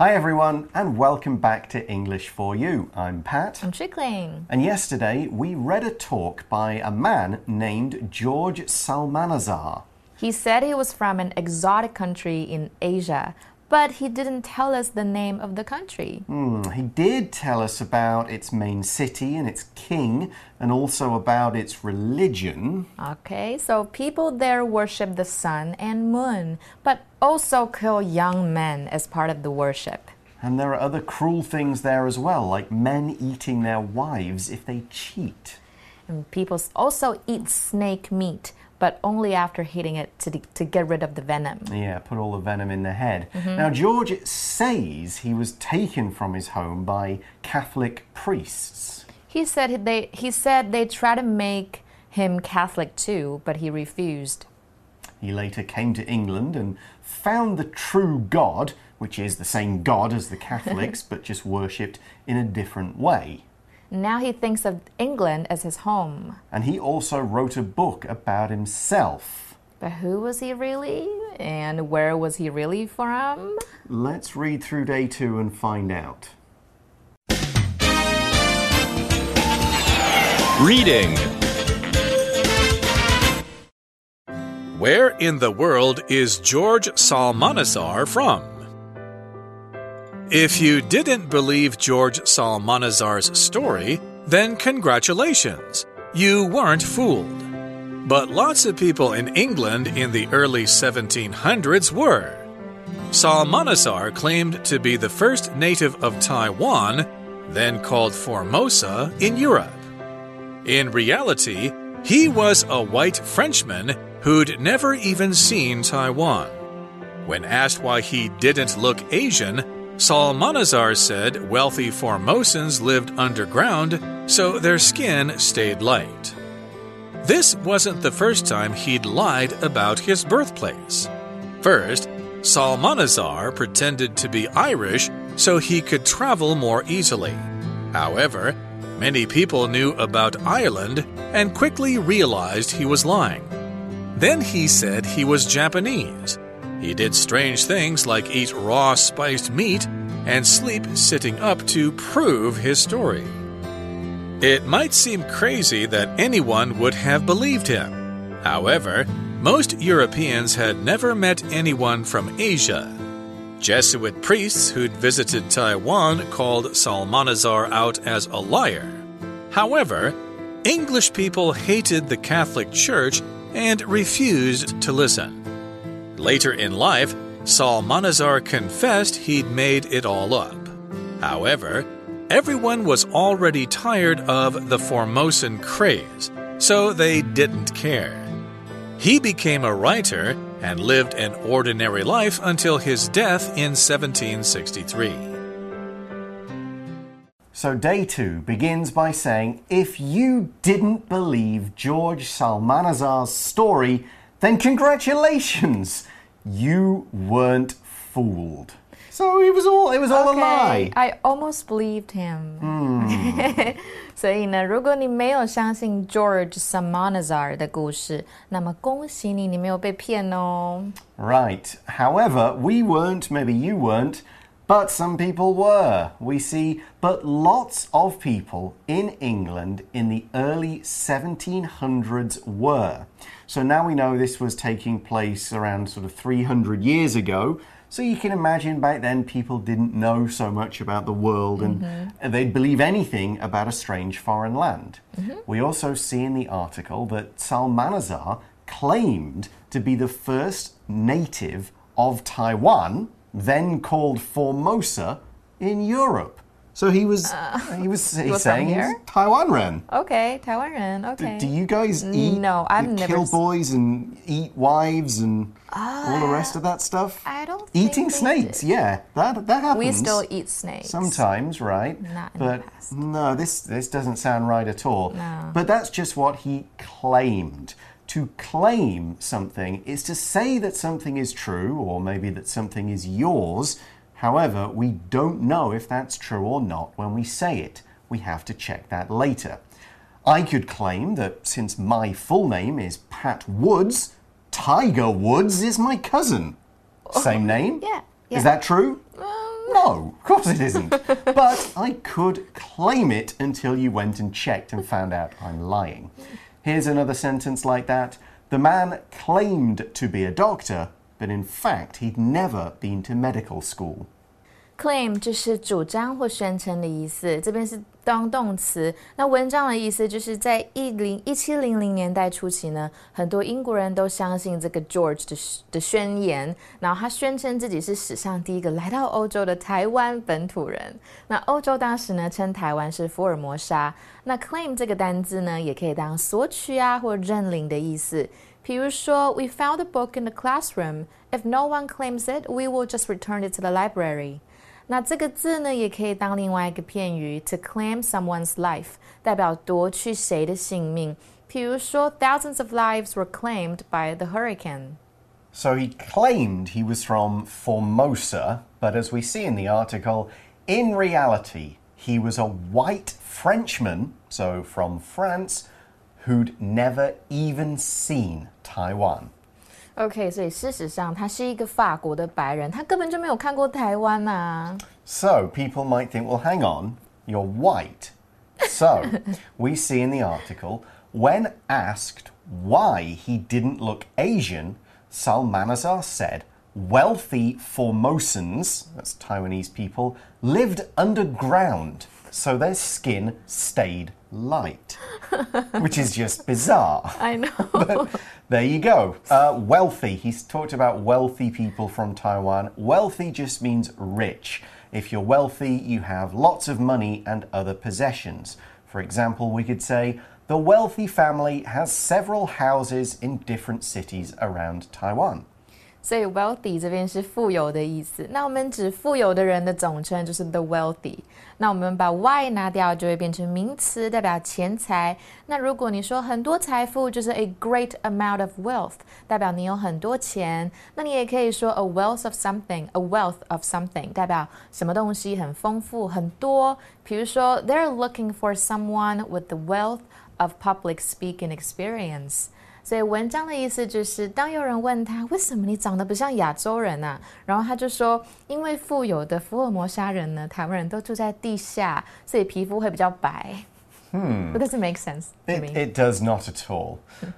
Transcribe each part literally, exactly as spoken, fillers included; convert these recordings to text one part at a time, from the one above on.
Hi everyone, and welcome back to English for You. I'm Pat. I'm Chickling. And yesterday we read a talk by a man named George Psalmanazar. He said he was from an exotic country in Asia, but he didn't tell us the name of the country. Mm, he did tell us about its main city and its king, and also about its religion. Okay, so people there worship the sun and moon, but also kill young men as part of the worship. And there are other cruel things there as well, like men eating their wives if they cheat. And people also eat snake meat, but only after hitting it to, to get rid of the venom. Yeah, put all the venom in the head. Mm-hmm. Now, George says he was taken from his home by Catholic priests. He said they, he said they tried to make him Catholic too, but he refused. He later came to England and found the true God, which is the same God as the Catholics, but just worshipped in a different way. Now he thinks of England as his home. And he also wrote a book about himself. But who was he really? And where was he really from? Let's read through day two and find out. Reading. Where in the world is George Psalmanazar from? If you didn't believe George Psalmanazar's story, then congratulations, you weren't fooled. But lots of people in England in the early seventeen hundreds were. Psalmanazar claimed to be the first native of Taiwan, then called Formosa, in Europe. In reality, he was a white Frenchman who'd never even seen Taiwan. When asked why he didn't look Asian, Psalmanazar said wealthy Formosans lived underground, so their skin stayed light. This wasn't the first time he'd lied about his birthplace. First, Psalmanazar pretended to be Irish so he could travel more easily. However, many people knew about Ireland and quickly realized he was lying. Then he said he was Japanese. He did strange things like eat raw spiced meat and sleep sitting up to prove his story. It might seem crazy that anyone would have believed him. However, most Europeans had never met anyone from Asia. Jesuit priests who'd visited Taiwan called Psalmanazar out as a liar. However, English people hated the Catholic Church and refused to listen. Later in life, Psalmanazar confessed he'd made it all up. However, everyone was already tired of the Formosan craze, so they didn't care. He became a writer and lived an ordinary life until his death in seventeen sixty-three. So day two begins by saying, if you didn't believe George Psalmanazar's story, then congratulations, you weren't fooled. So it was all, it was all Okay, a lie. I almost believed him. 嗯所以呢，如果你没有相信 George Psalmanazar 的故事，那么恭喜你，你没有被骗哦。 Right. However, we weren't, maybe you weren't, but some people were. We see, but lots of people in England in the early seventeen hundreds were. So now we know this was taking place around sort of three hundred years ago. So you can imagine back then people didn't know so much about the world and mm-hmm. they'd believe anything about a strange foreign land. Mm-hmm. We also see in the article that Psalmanazar claimed to be the first native of Taiwan, then called Formosa, in Europe. So he was, uh, he was, he's he was saying he's Taiwan-ren. Okay, Taiwan-ren, okay. Do, do you guys eat, no, I've you never kill boys and eat wives and uh, all the rest of that stuff? I don't think Eating we snakes, did. yeah, that, that happens. We still eat snakes. Sometimes, right? Not in but the past. No, this, this doesn't sound right at all. No. But that's just what he claimed. To claim something is to say that something is true, or maybe that something is yours. However, we don't know if that's true or not when we say it. We have to check that later. I could claim that since my full name is Pat Woods, Tiger Woods is my cousin. Same name? Yeah. yeah. Is that true? Um, No, of course it isn't. But I could claim it until you went and checked and found out I'm lying. Here's another sentence like that. The man claimed to be a doctor, but in fact he'd never been to medical school. Claim 就是主张或宣稱的意思，这邊是當動詞。那文章的意思就是在一七零零年代初期呢，很多英國人都相信這個 George 的的宣言，然後他宣稱自己是史上第一個來到歐洲的台灣本土人。那歐洲當時呢稱台灣是福爾摩沙。那 claim 這個單字呢，也可以當索取啊或認領的意思。比如說 ，We found a book in the classroom. If no one claims it, we will just return it to the library. 那這個字呢，也可以當另外一個片語 to claim someone's life， 代表奪去誰的性命。比如說 thousands of lives were claimed by the hurricane. So he claimed he was from Formosa, but as we see in the article, in reality, he was a white Frenchman, so from France, who'd never even seen Taiwan. OK, 所以事實上他是一個法國的白人，他根本就沒有看過台灣啊。 So people might think, well, hang on, you're white. So we see in the article, when asked why he didn't look Asian, Salmanazar said, wealthy Formosans, that's Taiwanese people, lived underground, so their skin stayed light, which is just bizarre. I know. But there you go. Uh, wealthy. He's talked about wealthy people from Taiwan. Wealthy just means rich. If you're wealthy, you have lots of money and other possessions. For example, we could say, the wealthy family has several houses in different cities around Taiwan. 所以 wealthy 這邊是富有的意思，那我們指富有的人的總稱就是 the wealthy。那我們把 y 拿掉，就會變成名詞，代表錢財。那如果你說很多財富，就是 a great amount of wealth， 代表你有很多錢。那你也可以說 a wealth of something，a wealth of something， 代表什麼東西很豐富很多。比如說 they're looking for someone with the wealth of public speaking experience。所以文章的意思就是，当有人問他為什麼你長得不像亞洲人啊，然後他就說，因為富有的福爾摩沙人呢，台灣人都住在地下，所以皮膚會比較白。Hmm. But does it make sense to it, me? It does not at all.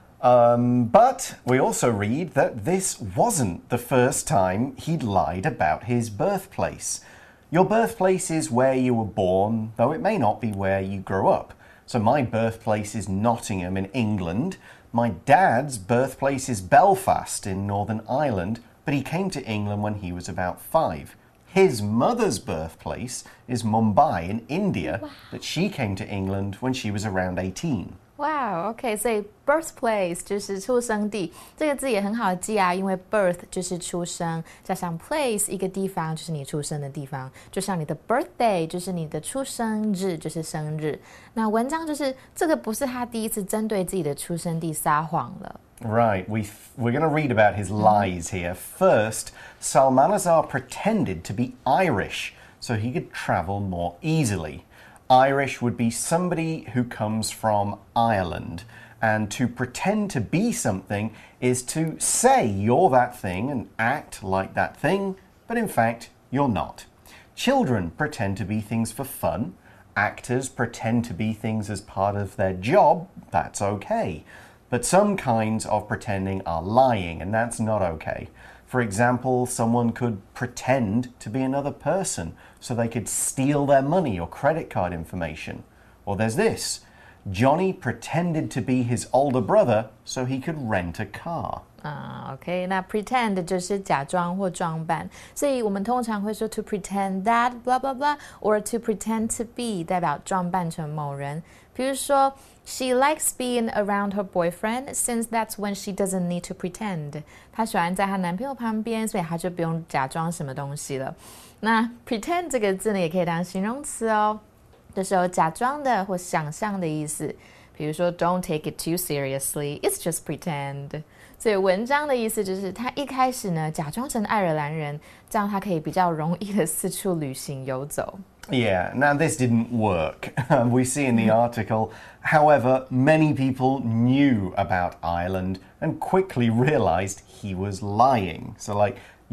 um, but we also read that this wasn't the first time he'd lied about his birthplace. Your birthplace is where you were born, though it may not be where you grew up. So my birthplace is Nottingham in England. My dad's birthplace is Belfast in Northern Ireland, but he came to England when he was about five. His mother's birthplace is Mumbai in India, wow. but she came to England when she was around eighteen. Wow, OK, 所以 birthplace 就是出生地，這個字也很好記啊，因為 birth 就是出生，加上 place 一個地方就是你出生的地方，就像你的 birthday 就是你的出生日，就是生日。那文章就是這個不是他第一次針對自己的出生地撒謊了。 Right, we we're going to read about his lies here. First, Salmanazar pretended to be Irish so he could travel more easily. Irish would be somebody who comes from Ireland. And to pretend to be something is to say you're that thing and act like that thing, but in fact, you're not. Children pretend to be things for fun. Actors pretend to be things as part of their job. That's okay. But some kinds of pretending are lying, and that's not okay. For example, someone could pretend to be another person so they could steal their money or credit card information. Or there's this. Johnny pretended to be his older brother so he could rent a car. 啊、uh, ，OK， 那 pretend 就是假裝或裝扮，所以我們通常會說 to pretend that blah blah blah，or to pretend to be 代表裝扮成某人。比如說 ，She likes being around her boyfriend since that's when she doesn't need to pretend。她喜歡在她男朋友旁邊，所以她就不用假裝什麼東西了。那 pretend 這個字呢，也可以當形容詞哦，就是有假裝的或想象的意思。比如說 ，Don't take it too seriously. It's just pretend. 所以文章的意思就是，他一開始呢假裝成愛爾蘭人，這樣他可以比較容易的四處旅行遊走。 Yeah, now this didn't work. We see in the article, however, many people knew about Ireland and quickly realized he was lying. So like,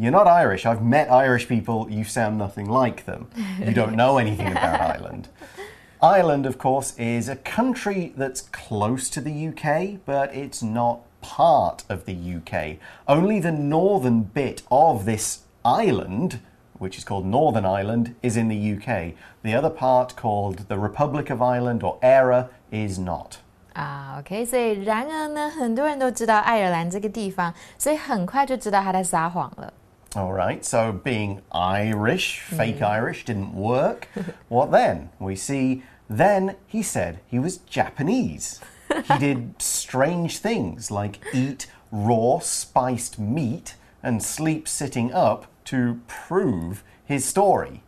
You're not Irish. I've met Irish people. You sound nothing like them. You don't know anything about Ireland. Ireland, of course, is a country that's close to the U K, but it's not part of the U K. Only the northern bit of this island, which is called Northern Ireland, is in the U K. The other part, called the Republic of Ireland or E R A, is not. 啊、uh, ，OK， 所以然而呢，很多人都知道爱爾蘭這個地方，所以很快就知道他在撒謊了。 All right, so being Irish, fake mm. Irish, didn't work. What then? We see, then he said he was Japanese. He did strange things like eat raw spiced meat and sleep sitting up to prove his story.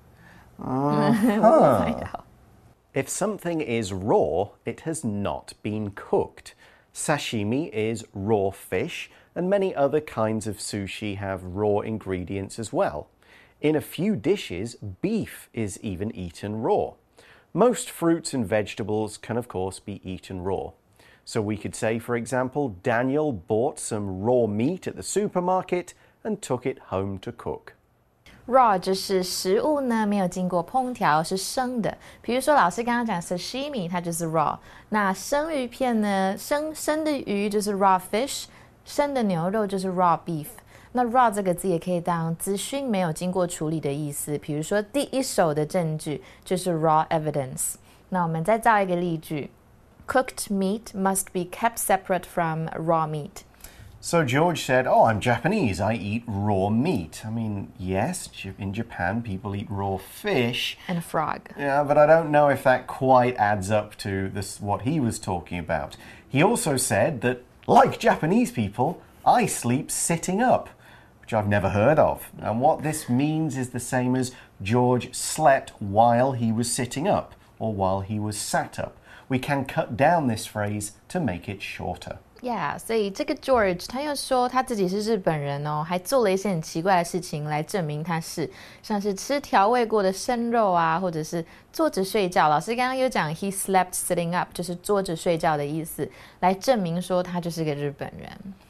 Uh-huh. If something is raw, it has not been cooked. Sashimi is raw fish, and many other kinds of sushi have raw ingredients as well. In a few dishes, beef is even eaten raw. Most fruits and vegetables can, of course, be eaten raw. So we could say, for example, Daniel bought some raw meat at the supermarket and took it home to cook. Raw 就是食物呢没有经过烹調，是生的。比如說老師剛剛講 sashimi， 它就是 raw。那生魚片呢，生生的魚就是 raw fish， 生的牛肉就是 raw beef。那 raw 這個字也可以當資訊沒有經過處理的意思。比如說第一手的證據就是 raw evidence。那我們再造一個例句 ：Cooked meat must be kept separate from raw meat. So George said, oh, I'm Japanese. I eat raw meat. I mean, yes, in Japan, people eat raw fish. And a frog. Yeah, but I don't know if that quite adds up to this what he was talking about. He also said that, like Japanese people, I sleep sitting up, which I've never heard of. And what this means is the same as George slept while he was sitting up, or while he was sat up. We can cut down this phrase to make it shorter. Yeah, 所以這個 George 他又說他自己是日本人哦，還做了一些很奇怪的事情來證明他是，像是吃調味過的生肉啊，或者是坐着睡覺。老師剛剛有講 he slept sitting up， 就是坐着睡覺的意思，來證明說他就是個日本人。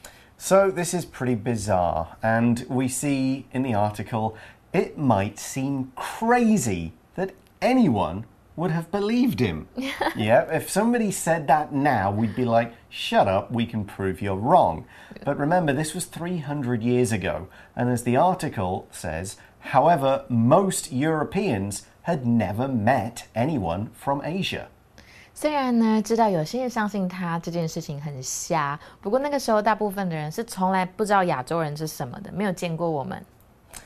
So this is pretty bizarre, and we see in the article it might seem crazy that anyone would have believed him. Yeah, if somebody said that now, we'd be like, shut up, we can prove you're wrong. But remember, this was three hundred years ago, and as the article says, however, most Europeans had never met anyone from Asia. 虽然呢，知道有些人相信他这件事情很瞎，不過那個時候大部分的人是從來不知道亞洲人是什麼的，沒有見過我們。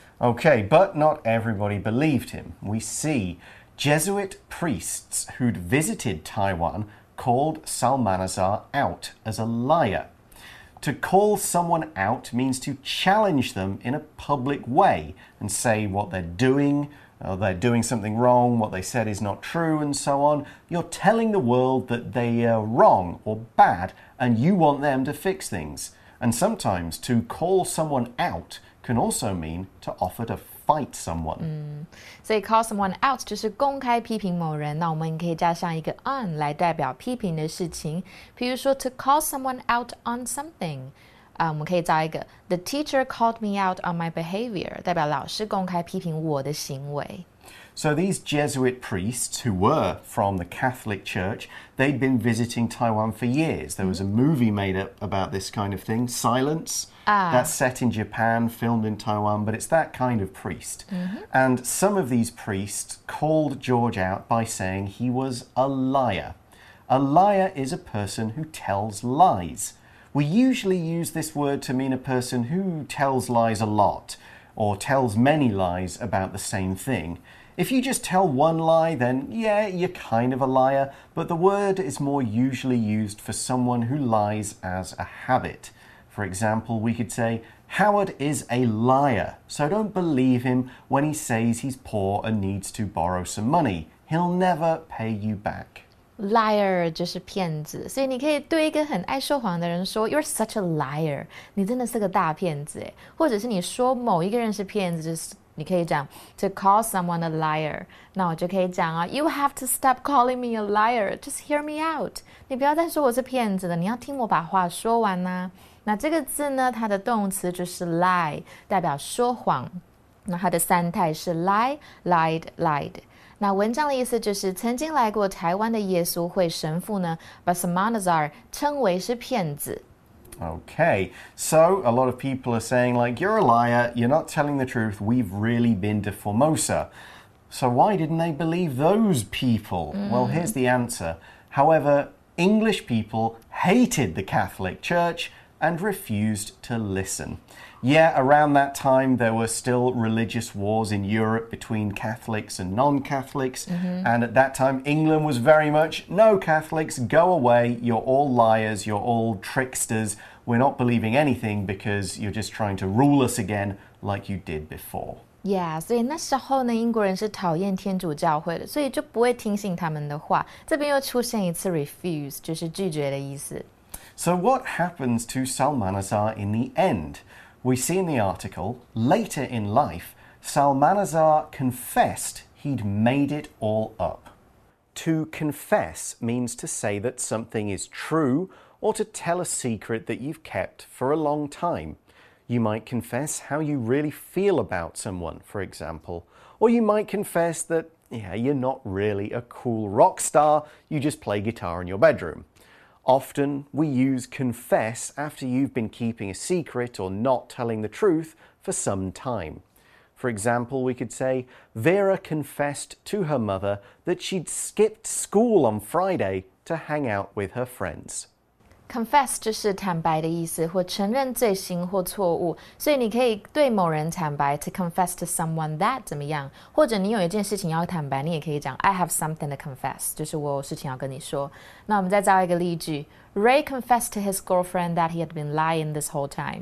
Okay, but not everybody believed him. We see Jesuit priests who'd visited Taiwan called Salmanazar out as a liar. To call someone out means to challenge them in a public way and say what they're doing, or they're doing something wrong, what they said is not true, and so on. You're telling the world that they are wrong or bad, and you want them to fix things. And sometimes to call someone out can also mean to offer to fight someone. 嗯，所以 call someone out 就是公開批評某人，那我們可以加上一個 on 來代表批評的事情。比如說 to call someone out on something， 啊、uh, ，我們可以造一個 The teacher called me out on my behavior， 代表老師公開批評我的行為。 So these Jesuit priests, who were from the Catholic Church, they'd been visiting Taiwan for years. There was a movie made up about this kind of thing, Silence. Ah. That's set in Japan, filmed in Taiwan, but it's that kind of priest. Mm-hmm. And some of these priests called George out by saying he was a liar. A liar is a person who tells lies. We usually use this word to mean a person who tells lies a lot, or tells many lies about the same thing. If you just tell one lie, then yeah, you're kind of a liar, but the word is more usually used for someone who lies as a habit. For example, we could say, Howard is a liar, so don't believe him when he says he's poor and needs to borrow some money. He'll never pay you back. Liar 就是騙子，所以你可以對一個很愛說謊的人說 You're such a liar， 你真的是個大騙子耶。或者是你說某一個人是騙子，就是你可以講 to call someone a liar， 那我就可以講啊 You have to stop calling me a liar, just hear me out。 你不要再說我是騙子了，你要聽我把話說完啊。 那這個字呢，它的動詞就是 lie， 代表說謊。那它的三態是 lie, lied, lied。那文章的意思就是曾經來過台灣的耶穌會神父呢，把 Salmanazar 稱為是騙子。 Okay, so a lot of people are saying, like, you're a liar, you're not telling the truth, we've really been to Formosa. So why didn't they believe those people? Mm. Well, here's the answer. However, English people hated the Catholic Church and refused to listen. Yeah, around that time, there were still religious wars in Europe between Catholics and non-Catholics. Mm-hmm. And at that time, England was very much, no Catholics, go away. You're all liars. You're all tricksters. We're not believing anything because you're just trying to rule us again like you did before. Yeah, 所以那時候呢，英國人是討厭天主教會的，所以就不會聽信他們的話。這邊又出現一次 refuse， 就是拒絕的意思。 So what happens to Salmanazar in the end? We see in the article, later in life, Salmanazar confessed he'd made it all up. To confess means to say that something is true or to tell a secret that you've kept for a long time. You might confess how you really feel about someone, for example. Or you might confess that, yeah, you're not really a cool rock star, you just play guitar in your bedroom. Often, we use confess after you've been keeping a secret or not telling the truth for some time. For example, we could say, Vera confessed to her mother that she'd skipped school on Friday to hang out with her friends. Confess 就是坦白的意思，或承認罪行或錯誤，所以你可以對某人坦白 to confess to someone that 怎麼樣，或者你有一件事情要坦白，你也可以講 I have something to confess， 就是我有事情要跟你說。那我們再造一個例句 Ray confessed to his girlfriend that he had been lying this whole time.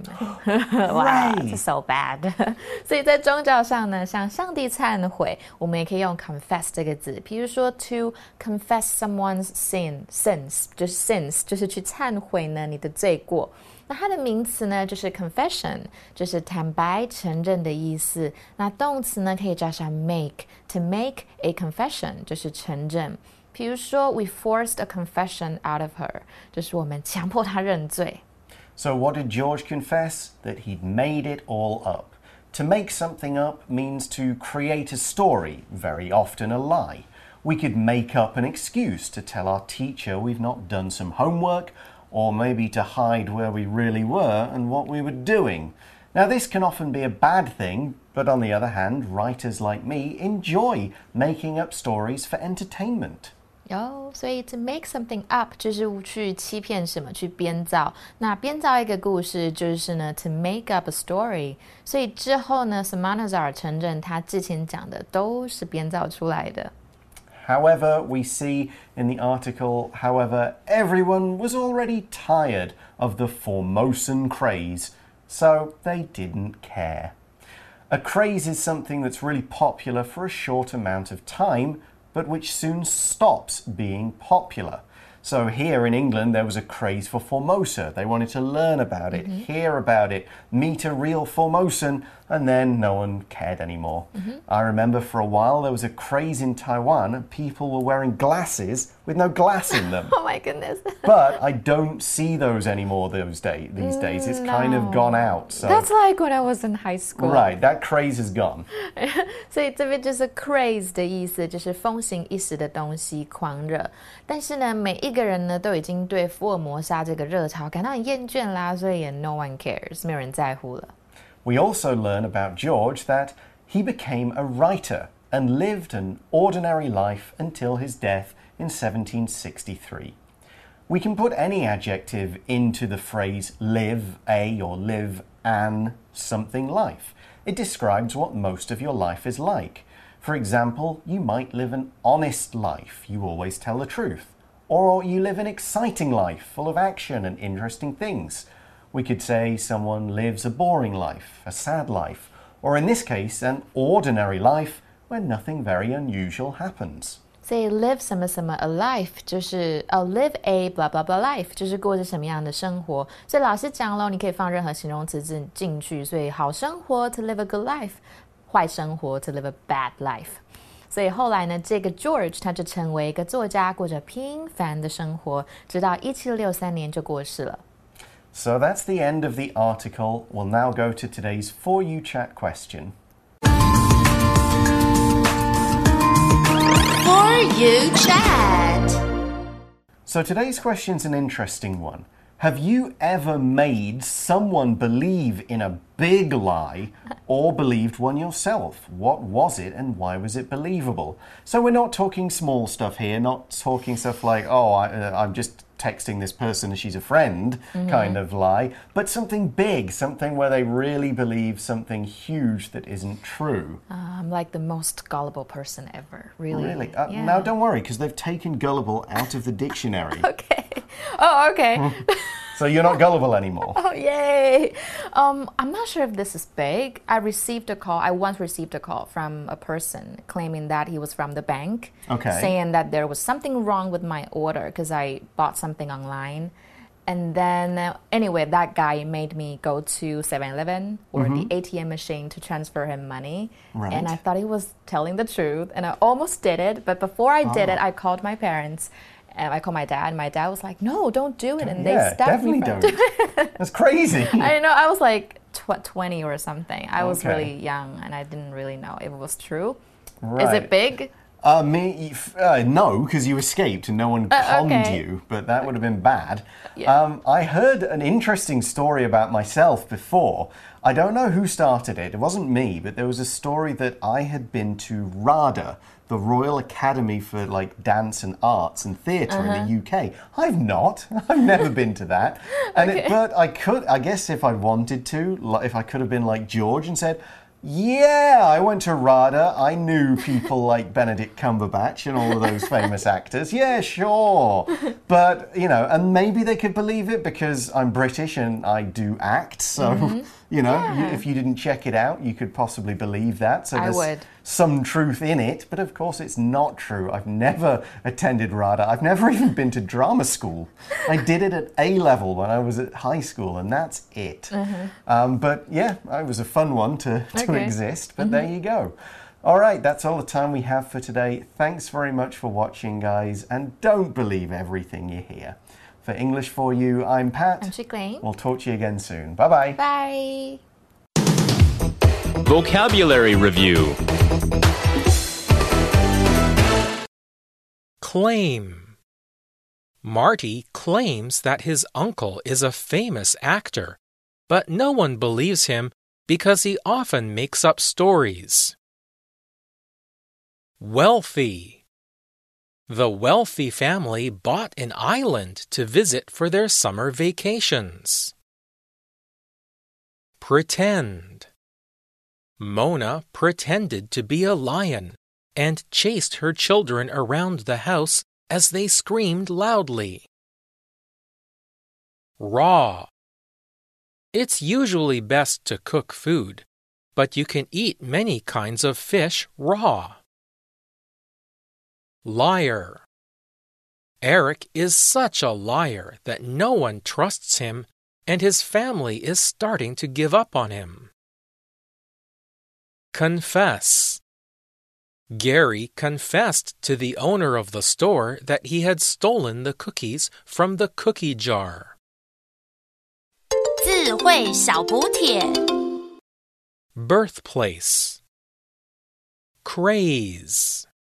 Wow, it's so bad. 所以在宗教上呢，向上帝懺悔，我們也可以用 confess 這個字。比如說 to confess someone's sin, sins 就是 sins 就是去懺悔呢你的罪過。那它的名詞呢就是 confession， 就是坦白承認的意思。那動詞呢可以加上 make， to make a confession 就是承認。比如說 we forced a confession out of her， 就是我們強迫她認罪。 So what did George confess? That he'd made it all up. To make something up means to create a story, very often a lie. We could make up an excuse to tell our teacher we've not done some homework, or maybe to hide where we really were and what we were doing. Now, this can often be a bad thing, but on the other hand, writers like me enjoy making up stories for entertainment. 有，所以 to make something up 就是去欺騙什麼，去編造。那編造一個故事就是呢 to make up a story。所以之後呢 Salmanazar 承認他之前講的都是編造出來的。 However, we see in the article, however, everyone was already tired of the Formosan craze, so they didn't care. A craze is something that's really popular for a short amount of time, but which soon stops being popular. So here in England, there was a craze for Formosa. They wanted to learn about it, mm-hmm. hear about it, meet a real Formosan, and then no one cared anymore. Mm-hmm. I remember for a while there was a craze in Taiwan and people were wearing glasses with no glass in them. Oh my goodness. But I don't see those anymore those day, these days. It's no. kind of gone out. So. That's like when I was in high school. Right, that craze is gone. 所以这邊就是 craze 的意思，就是风行一时的東西，狂熱。但是呢，每一個人呢都已經對福爾摩沙這個熱潮感到很厭倦啦，所以也 no one cares， 沒有人在乎了。 We also learn about George that he became a writer and lived an ordinary life until his death in seventeen sixty-three. We can put any adjective into the phrase live a or live an something life. It describes what most of your life is like. For example, you might live an honest life. You always tell the truth. Or you live an exciting life full of action and interesting things. We could say someone lives a boring life, a sad life, or in this case, an ordinary life where nothing very unusual happens. 所以 live 什麼什麼 a life 就是哦 live a blah blah blah life 就是過着什麼樣的生活。所以老師講咯，你可以放任何形容詞進進去。所以好生活 to live a good life， 壞生活 to live a bad life。所以後來呢，這個 George 他就成為一個作家，過着平凡的生活，直到一七六三年就過世了。 So that's the end of the article. We'll now go to today's For You Chat question. For You Chat. So today's question's an interesting one. Have you ever made someone believe in a big lie or believed one yourself? What was it and why was it believable? So we're not talking small stuff here, not talking stuff like, oh, I, uh, I'm just texting this person and she's a friend mm-hmm. kind of lie, but something big, something where they really believe something huge that isn't true. Uh, I'm like the most gullible person ever, really. Really? Uh, yeah. Now don't worry, because they've taken gullible out of the dictionary. Okay. Oh, okay. So you're not gullible anymore. Oh, yay. Um, I'm not sure if this is big. I received a call. I once received a call from a person claiming that he was from the bank. Okay. Saying that there was something wrong with my order because I bought something online. And then, uh, anyway, that guy made me go to seven eleven or mm-hmm. the A T M machine to transfer him money. Right. And I thought he was telling the truth. And I almost did it. But before I did oh. it, I called my parents. And I called my dad, and my dad was like, no, don't do it. And yeah, they stopped me from don't. doing it. That's crazy. I know. I was like tw twenty or something. I was okay. really young, and I didn't really know if it was true. Right. Is it big? Uh, me, uh, no, because you escaped and no one uh, conned okay. you, but that would have been bad. Yeah. Um, I heard an interesting story about myself before. I don't know who started it. It wasn't me, but there was a story that I had been to RADA, the Royal Academy for like Dance and Arts and Theatre uh-huh. in the U K. I've not. I've never been to that. And okay. it, but I could, I guess if I wanted to, if I could have been like George and said, yeah, I went to RADA. I knew people like Benedict Cumberbatch and all of those famous actors. Yeah, sure. But, you know, and maybe they could believe it because I'm British and I do act. So, mm-hmm. you know, yeah. you, if you didn't check it out, you could possibly believe that. So I there's would. some truth in it. But of course, it's not true. I've never attended RADA. I've never even been to drama school. I did it at A level when I was at high school, and that's it. Mm-hmm. um, but yeah, it was a fun one to, to okay. exist. But mm-hmm. there you go. All right, that's all the time we have for today. Thanks very much for watching, guys. And don't believe everything you hear. For English For You, I'm Pat. I'm Chickling. We'll talk to you again soon. Bye-bye. Bye. Vocabulary Review. Claim. Marty claims that his uncle is a famous actor, but no one believes him because he often makes up stories. Wealthy. The wealthy family bought an island to visit for their summer vacations. Pretend. Mona pretended to be a lion and chased her children around the house as they screamed loudly. Raw. It's usually best to cook food, but you can eat many kinds of fish raw. Liar. Eric is such a liar that no one trusts him, and his family is starting to give up on him. Confess. Gary confessed to the owner of the store that he had stolen the cookies from the cookie jar. 智慧小補帖 Birthplace. Craze.